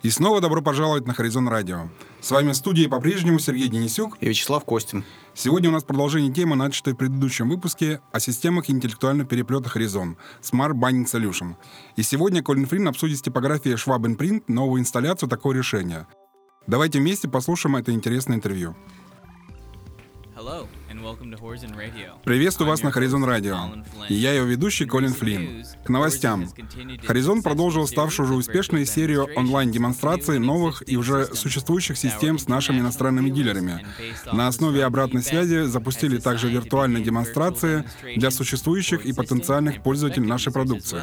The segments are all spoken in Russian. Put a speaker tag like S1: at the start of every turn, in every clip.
S1: И снова добро пожаловать на Horizon Radio. С вами в студии по-прежнему Сергей Денисюк
S2: и Вячеслав Костин.
S1: Сегодня у нас продолжение темы, начатой в предыдущем выпуске, о системах интеллектуального переплета Horizon Smart Binding Solution. И сегодня Колин Флинн обсудит с типографией Schwab & Print новую инсталляцию такого решения. Давайте вместе послушаем это интересное интервью. Приветствую вас на Horizon Radio. И я его ведущий Колин Флинн. К новостям. Horizon продолжил ставшую уже успешной серию онлайн-демонстраций новых и уже существующих систем с нашими иностранными дилерами. На основе обратной связи запустили также виртуальные демонстрации для существующих и потенциальных пользователей нашей продукции.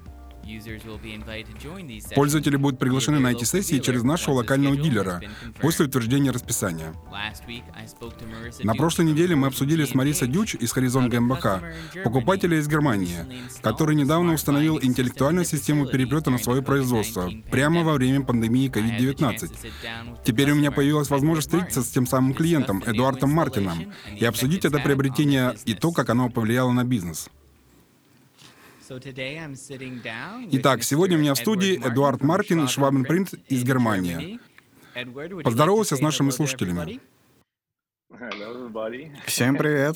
S1: Пользователи будут приглашены на эти сессии через нашего локального дилера после утверждения расписания. На прошлой неделе мы обсудили с Марисой Дюч из Horizon GmbH, покупателя из Германии, который недавно установил интеллектуальную систему переплета на свое производство прямо во время пандемии COVID-19. Теперь у меня появилась возможность встретиться с тем самым клиентом, Эдуардом Мартином, и обсудить это приобретение и то, как оно повлияло на бизнес. Итак, сегодня у меня в студии Эдуард Мартин из Schwab & Print из Германии. Поздоровался с нашими слушателями.
S2: Всем привет.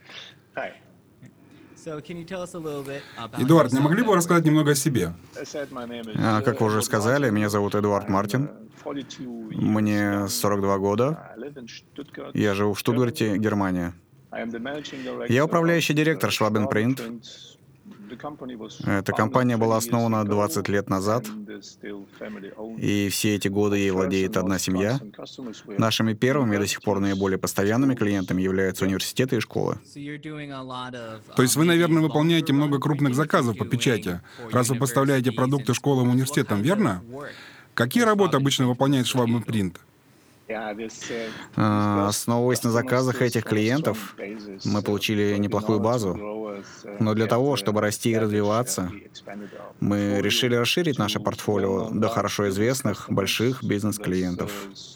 S1: Эдуард, не могли бы вы рассказать немного о себе?
S2: Как вы уже сказали, меня зовут Эдуард Мартин. Мне 42 года. Я живу в Штутгарте, Германия. Я управляющий директор Schwab & Print. Эта компания была основана 20 лет назад, и все эти годы ей владеет одна семья. Нашими первыми и до сих пор наиболее постоянными клиентами являются университеты и школы.
S1: То есть вы, наверное, выполняете много крупных заказов по печати, раз вы поставляете продукты школам и университетам, верно? Какие работы обычно выполняет Schwab & Print?
S2: Основываясь на заказах этих клиентов, мы получили неплохую базу. Но для того, чтобы расти и развиваться, мы решили расширить наше портфолио до хорошо известных больших бизнес-клиентов.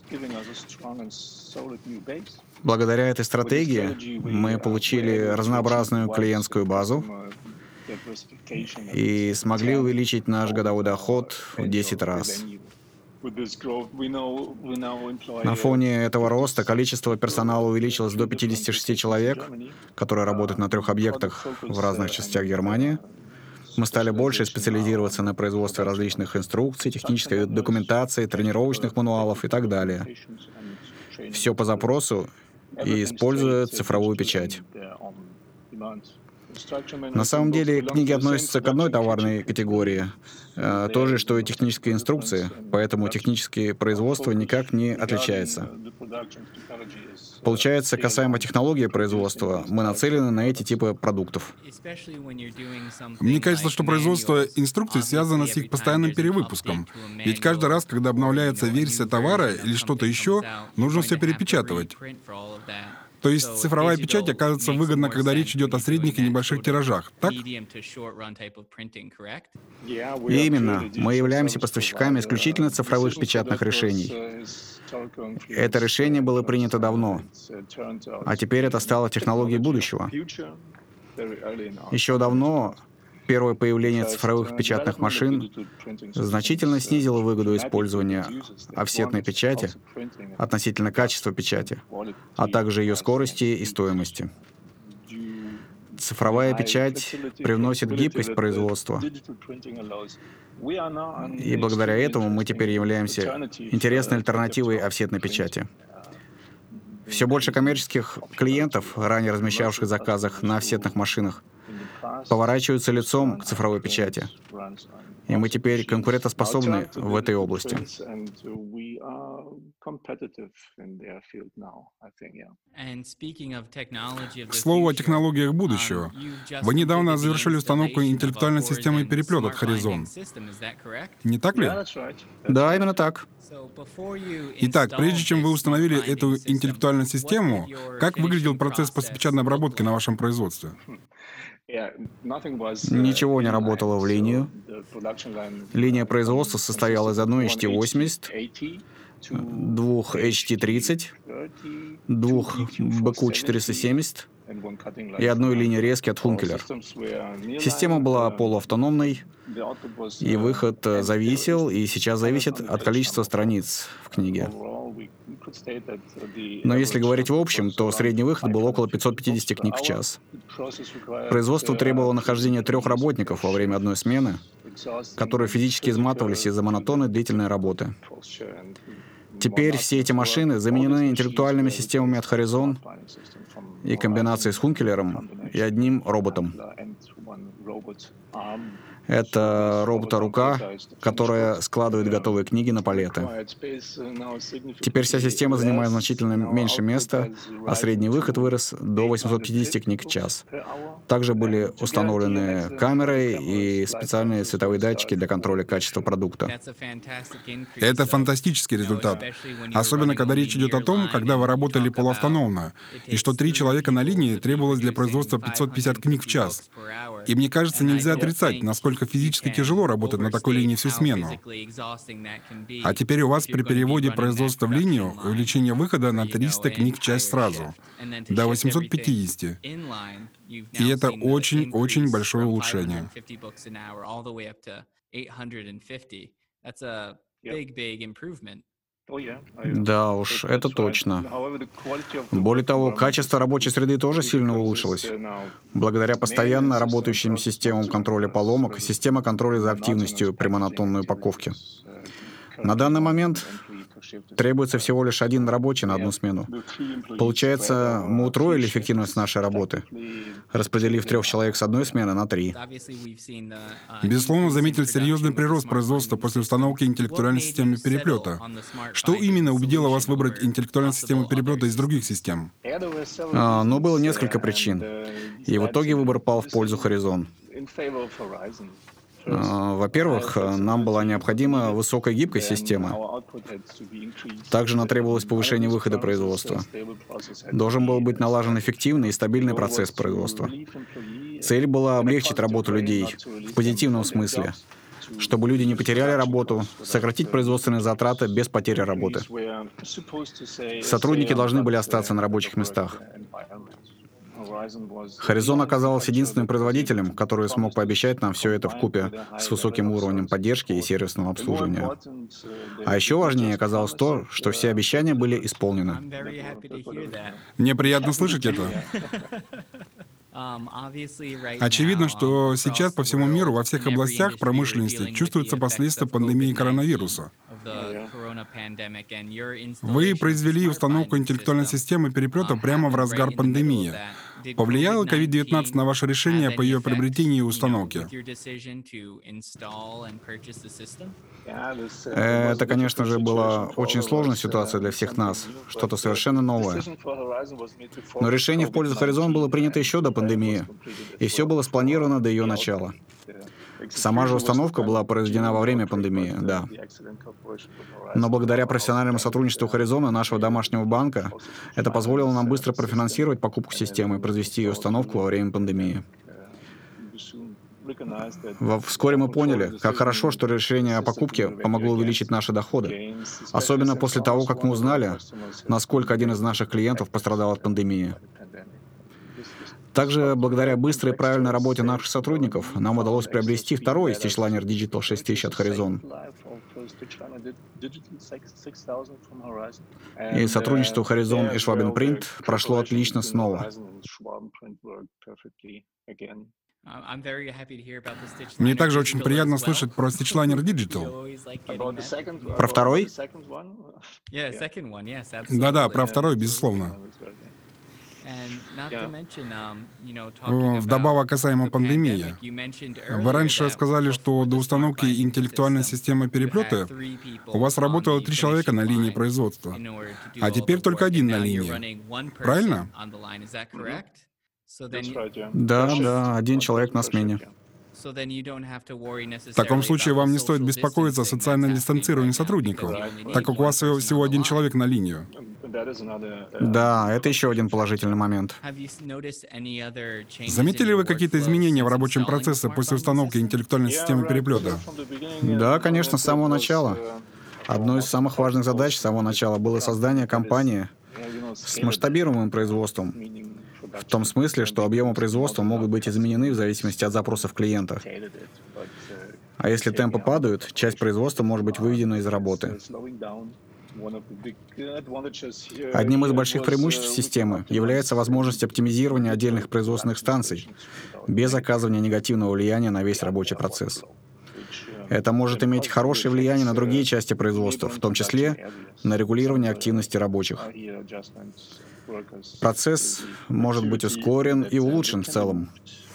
S2: Благодаря этой стратегии мы получили разнообразную клиентскую базу и смогли увеличить наш годовой доход в 10 раз. На фоне этого роста количество персонала увеличилось до 56 человек, которые работают на 3 объектах в разных частях Германии. Мы стали больше специализироваться на производстве различных инструкций, технической документации, тренировочных мануалов и так далее. Все по запросу и используя цифровую печать. На самом деле книги относятся к одной товарной категории, то же, что и технические инструкции, поэтому техническое производство никак не отличается. Получается, касаемо технологии производства, мы нацелены на эти типы продуктов.
S1: Мне кажется, что производство инструкций связано с их постоянным перевыпуском. Ведь каждый раз, когда обновляется версия товара или что-то еще, нужно все перепечатывать. То есть цифровая печать оказывается выгодна, когда речь идет о средних и небольших тиражах, так?
S2: Именно. Мы являемся поставщиками исключительно цифровых печатных решений. Это решение было принято давно, а теперь это стало технологией будущего. Еще давно первое появление цифровых печатных машин значительно снизило выгоду использования офсетной печати относительно качества печати, а также ее скорости и стоимости. Цифровая печать привносит гибкость производства, и благодаря этому мы теперь являемся интересной альтернативой офсетной печати. Все больше коммерческих клиентов, ранее размещавших в заказах на офсетных машинах, поворачиваются лицом к цифровой печати. И мы теперь конкурентоспособны в этой области.
S1: К слову о технологиях будущего. Вы недавно завершили установку интеллектуальной системы переплета от Horizon. Не так ли?
S2: Да, именно так.
S1: Итак, прежде чем вы установили эту интеллектуальную систему, как выглядел процесс постпечатной обработки на вашем производстве?
S2: Ничего не работало в линию. Линия производства состояла из одной HT80, 2 HT30, 2 BQ470 и одной линии резки от Функелер. Система была полуавтономной, и выход зависел, и сейчас зависит от количества страниц в книге. Но если говорить в общем, то средний выход был около 550 книг в час. Производство требовало нахождения 3 работников во время одной смены, которые физически изматывались из-за монотонной длительной работы. Теперь все эти машины заменены интеллектуальными системами от Horizon и комбинацией с Функелером и одним роботом. Это робота-рука, которая складывает готовые книги на палеты. Теперь вся система занимает значительно меньше места, а средний выход вырос до 850 книг в час. Также были установлены камеры и специальные световые датчики для контроля качества продукта.
S1: Это фантастический результат. Особенно, когда речь идет о том, когда вы работали полуавтономно, и что 3 человека на линии требовалось для производства 550 книг в час. И мне кажется, нельзя отрицать, насколько физически тяжело работать на такой линии всю смену. А теперь у вас при переводе производства в линию увеличение выхода на 300 книг в час сразу, до 850. И это очень-очень большое улучшение.
S2: Да уж, это точно. Более того, качество рабочей среды тоже сильно улучшилось. Благодаря постоянно работающим системам контроля поломок, система контроля за активностью при монотонной упаковке. На данный момент требуется всего лишь 1 рабочий на одну смену. Получается, мы утроили эффективность нашей работы, распределив 3 человек с одной смены на 3.
S1: Безусловно, заметили серьезный прирост производства после установки интеллектуальной системы переплета. Что именно убедило вас выбрать интеллектуальную систему переплета из других систем?
S2: Но было несколько причин. И в итоге выбор пал в пользу Horizon. Во-первых, нам была необходима высокая гибкость системы. Также нам требовалось повышение выхода производства. Должен был быть налажен эффективный и стабильный процесс производства. Цель была облегчить работу людей в позитивном смысле, чтобы люди не потеряли работу, сократить производственные затраты без потери работы. Сотрудники должны были остаться на рабочих местах. Horizon оказался единственным производителем, который смог пообещать нам все это вкупе с высоким уровнем поддержки и сервисного обслуживания. А еще важнее оказалось то, что все обещания были исполнены.
S1: Мне приятно слышать это. Очевидно, что сейчас по всему миру во всех областях промышленности чувствуются последствия пандемии коронавируса. Вы произвели установку интеллектуальной системы переплета прямо в разгар пандемии. Повлияло COVID-19 на ваше решение по ее приобретению и установке?
S2: Это, конечно же, была очень сложная ситуация для всех нас, что-то совершенно новое. Но решение в пользу Horizon было принято еще до пандемии, и все было спланировано до ее начала. Сама же установка была произведена во время пандемии, да. Но благодаря профессиональному сотрудничеству Horizon и нашего домашнего банка, это позволило нам быстро профинансировать покупку системы и произвести ее установку во время пандемии. Вскоре мы поняли, как хорошо, что решение о покупке помогло увеличить наши доходы. Особенно после того, как мы узнали, насколько один из наших клиентов пострадал от пандемии. Также, благодаря быстрой и правильной работе наших сотрудников, нам удалось приобрести второй Stitchliner Digital 6000 от Horizon. И сотрудничество Horizon и Schwab Print прошло отлично снова.
S1: Мне также очень приятно слышать про Stitchliner Digital.
S2: Про второй?
S1: Да-да, про второй, безусловно. Вдобавок касаемо пандемии. Вы раньше сказали, что до установки интеллектуальной системы переплета у вас работало 3 человека на линии производства, а теперь только 1 на линии. Правильно?
S2: Да, 1 человек на смене.
S1: В таком случае вам не стоит беспокоиться о социальном дистанцировании сотрудников, так как у вас всего 1 человек на линию.
S2: Да, это еще один положительный момент.
S1: Заметили вы какие-то изменения в рабочем процессе после установки интеллектуальной системы переплета?
S2: Да, конечно, с самого начала. Одной из самых важных задач с самого начала было создание компании с масштабируемым производством, В том смысле, что объемы производства могут быть изменены в зависимости от запросов клиента. А если темпы падают, часть производства может быть выведена из работы. Одним из больших преимуществ системы является возможность оптимизирования отдельных производственных станций без оказывания негативного влияния на весь рабочий процесс. Это может иметь хорошее влияние на другие части производства, в том числе на регулирование активности рабочих. Процесс может быть ускорен и улучшен в целом.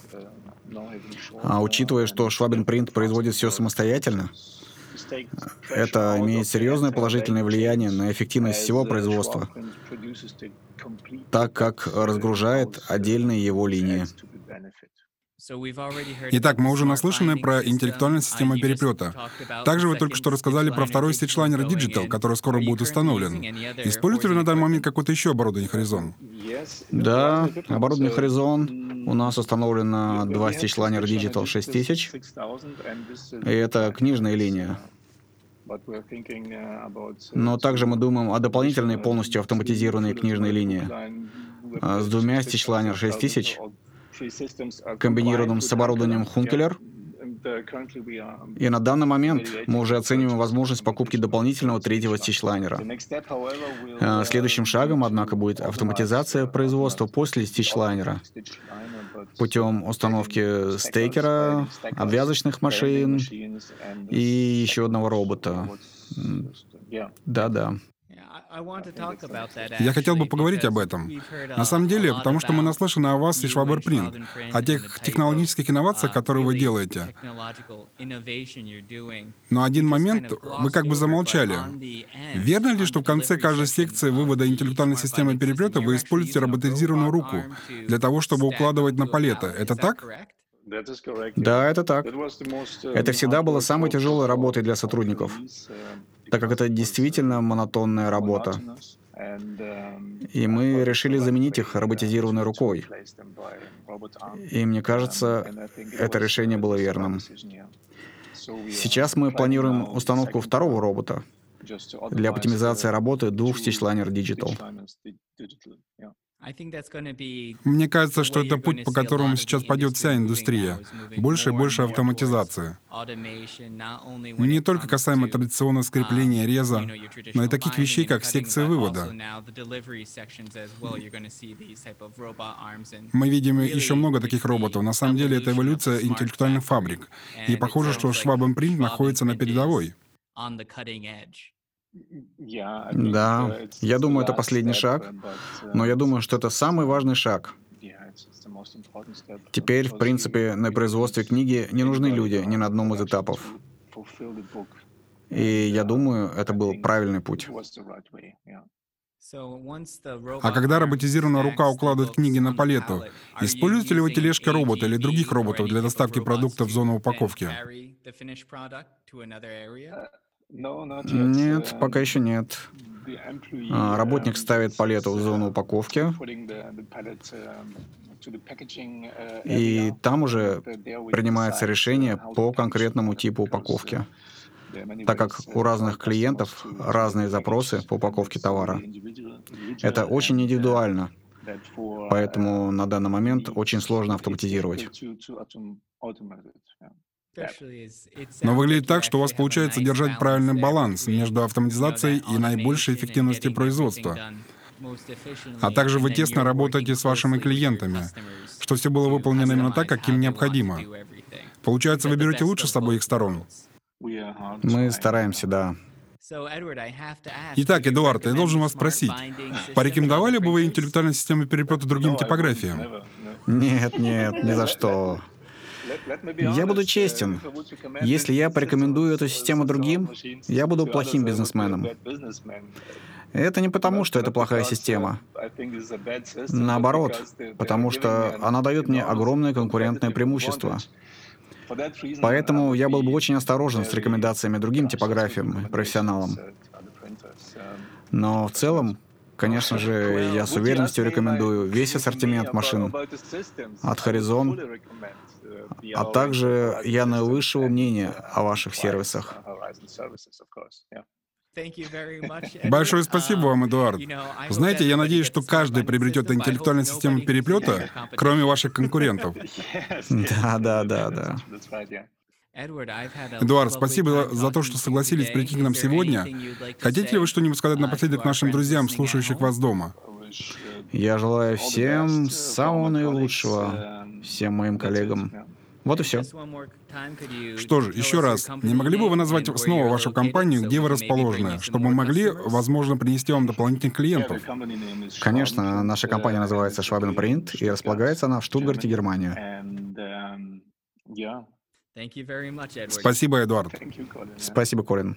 S2: А учитывая, что Schwab Print производит все самостоятельно, это имеет серьезное положительное влияние на эффективность всего производства, так как разгружает отдельные его линии.
S1: Итак, мы уже наслышаны про интеллектуальную систему переплета. Также вы только что рассказали про второй стичлайнер Digital, который скоро будет установлен. Используете ли на данный момент какое-то еще оборудование Horizon?
S2: Да, оборудование Horizon. У нас установлено 2 стичлайнера Digital 6000, и это книжная линия. Но также мы думаем о дополнительной полностью автоматизированной книжной линии с 2 стичлайнер 6000, комбинированным с оборудованием Hunkeler. И на данный момент мы уже оцениваем возможность покупки дополнительного 3-го стичлайнера. Следующим шагом, однако, будет автоматизация производства после стичлайнера путем установки стейкера, обвязочных машин и еще одного робота. Да-да.
S1: Я хотел бы поговорить об этом. На самом деле, потому что мы наслышаны о вас и Schwab Print, о тех технологических инновациях, которые вы делаете. Но один момент вы как бы замолчали. Верно ли, что в конце каждой секции вывода интеллектуальной системы переплета вы используете роботизированную руку для того, чтобы укладывать на палеты? Это так?
S2: Да, это так. Это всегда было самой тяжелой работой для сотрудников, так как это действительно монотонная работа. И мы решили заменить их роботизированной рукой. И мне кажется, это решение было верным. Сейчас мы планируем установку второго робота для оптимизации работы 2 стичлайнер Digital.
S1: Мне кажется, что это путь, по которому сейчас пойдет вся индустрия. Больше и больше автоматизации. Не только касаемо традиционного скрепления реза, но и таких вещей, как секция вывода. Мы видим еще много таких роботов. На самом деле, это эволюция интеллектуальных фабрик. И похоже, что Schwab Print находится на передовой.
S2: Да, я думаю, это последний шаг, но я думаю, что это самый важный шаг. Теперь, в принципе, на производстве книги не нужны люди ни на одном из этапов. И я думаю, это был правильный путь.
S1: А когда роботизированная рука укладывает книги на палету, используете ли вы тележки-робота или других роботов для доставки продуктов в зону упаковки?
S2: Нет, пока еще нет. Работник ставит палету в зону упаковки, и там уже принимается решение по конкретному типу упаковки, так как у разных клиентов разные запросы по упаковке товара. Это очень индивидуально, поэтому на данный момент очень сложно автоматизировать.
S1: Но выглядит так, что у вас получается держать правильный баланс между автоматизацией и наибольшей эффективностью производства. А также вы тесно работаете с вашими клиентами, что все было выполнено именно так, как им необходимо. Получается, вы берете лучше с обоих сторон.
S2: Мы стараемся, да.
S1: Итак, Эдуард, я должен вас спросить, порекомендовали бы вы интеллектуальную систему переплета другим типографиям?
S2: Нет, ни за что. Я буду честен. Если я порекомендую эту систему другим, я буду плохим бизнесменом. Это не потому, что это плохая система. Наоборот, потому что она дает мне огромное конкурентное преимущество. Поэтому я был бы очень осторожен с рекомендациями другим типографиям и профессионалам. Но в целом, конечно же, я с уверенностью рекомендую весь ассортимент машин от Horizon, а также я наивысшего мнения о ваших сервисах.
S1: Большое спасибо вам, Эдуард. Знаете, я надеюсь, что каждый приобретет интеллектуальную систему переплета, кроме ваших конкурентов.
S2: Да.
S1: Эдуард, спасибо за то, что согласились прийти к нам сегодня. Хотите ли вы что-нибудь сказать напоследок нашим друзьям, слушающих вас дома?
S2: Я желаю всем самого наилучшего, всем моим коллегам. Вот и все.
S1: Что ж, еще раз, не могли бы вы назвать снова вашу компанию, где вы расположены, чтобы мы могли, возможно, принести вам дополнительных клиентов?
S2: Конечно, наша компания называется Schwaben Print, и располагается она в Штутгарте, Германия.
S1: Спасибо, Эдуард.
S2: Спасибо, Колин.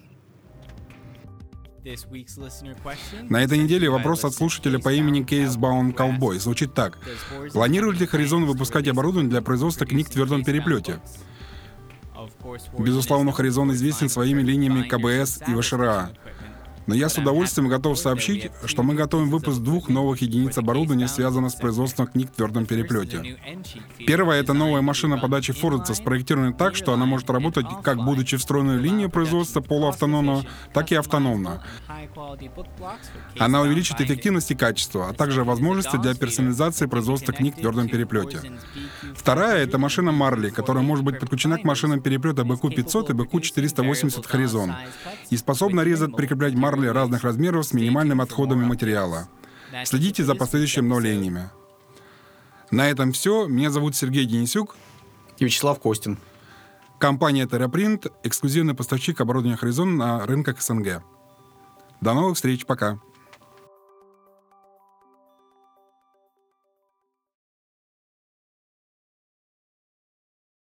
S1: На этой неделе вопрос от слушателя по имени Кейсбаун Cowboy звучит так. Планирует ли Horizon выпускать оборудование для производства книг в твердом переплете? Безусловно, Horizon известен своими линиями КБС и ВШРА. Но я с удовольствием готов сообщить, что мы готовим выпуск 2 новых единиц оборудования, связанных с производством книг в твердом переплете. Первая — это новая машина подачи Фордса, спроектированная так, что она может работать как будучи встроенной в линию производства полуавтономно, так и автономно. Она увеличит эффективность и качество, а также возможности для персонализации производства книг в твердом переплете. Вторая — это машина Marley, которая может быть подключена к машинам переплета BQ500 и BQ480 Horizon и способна резать, прикреплять Marley разных размеров с минимальными отходами материала. Следите за последующими обновлениями. На этом все. Меня зовут Сергей Денисюк.
S2: И Вячеслав Костин.
S1: Компания TerraPrint — эксклюзивный поставщик оборудования Horizon на рынках СНГ. До новых встреч. Пока.